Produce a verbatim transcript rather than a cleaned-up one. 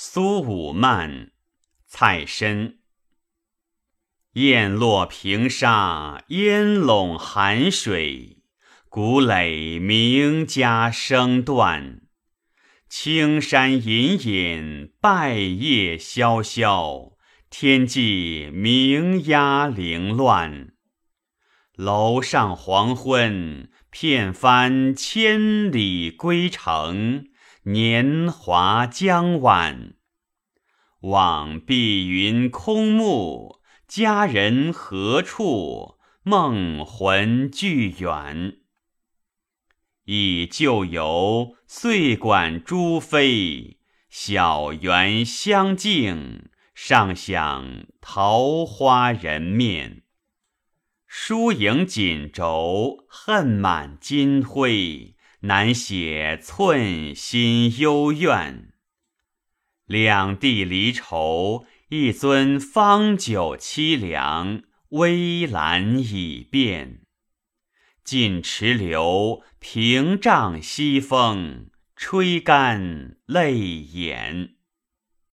苏武曼，蔡参。雁落平沙，烟笼寒水，谷垒名家声断。青山隐隐，败叶萧萧，天际鸣鸦零乱。楼上黄昏，片帆千里归程，年华将晚。望碧云空暮，佳人何处？梦魂俱远。忆旧游，岁管朱飞，小园香径，尚想桃花人面。疏影锦轴，恨满金辉，难写寸心幽怨。两地离愁，一樽方酒凄凉，微澜已变。尽池流，屏障西风，吹干泪眼。